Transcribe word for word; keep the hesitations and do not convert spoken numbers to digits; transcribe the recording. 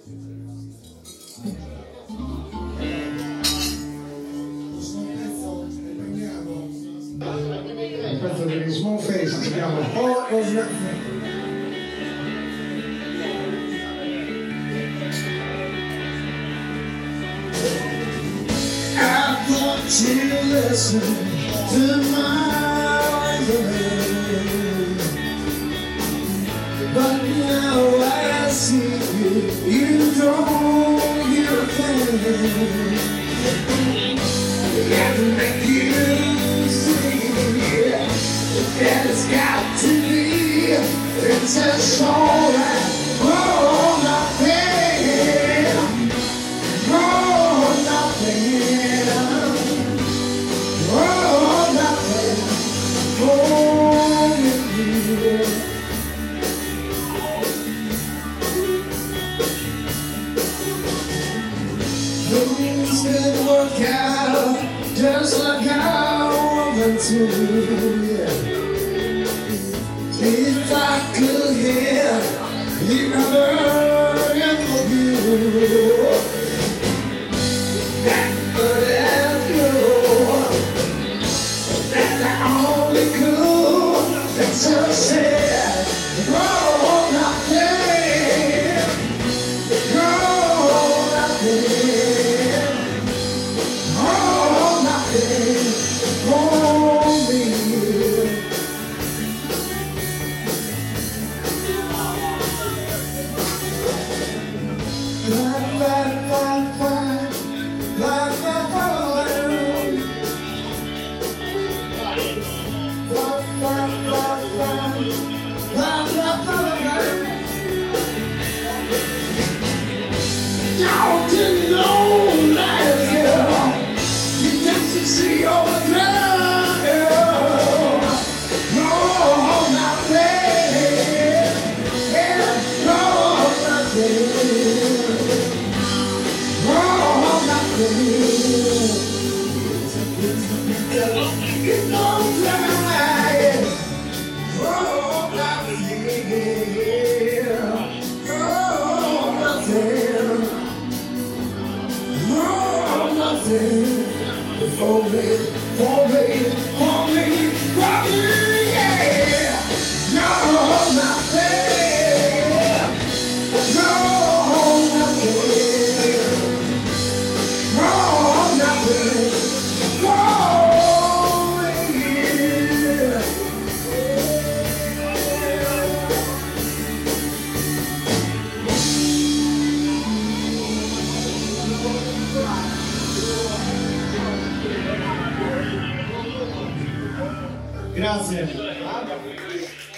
Questo degli Small Face si chiama All of Nothing. I thought you listened to my word, but now I see you, you don't hear a thing. And make you see that it's got to be, it's just alright. Oh, nothing, oh, nothing, oh, nothing for me. Things didn't work out just like I wanted to, yeah. If I could hear you burning for you, that could have you, that I only could, that's just said, oh, nothing, oh, nothing, oh, nothing for me. Don't you know that girl? You got to see all the girl. No, nothing. Yeah, no, nothing. No, nothing. You know that. Oh, nothing. Oh, nothing. Oh, nothing for me, for me, for me, for me, yeah. No, nothing. No, nothing. No, nothing for me. Grazie.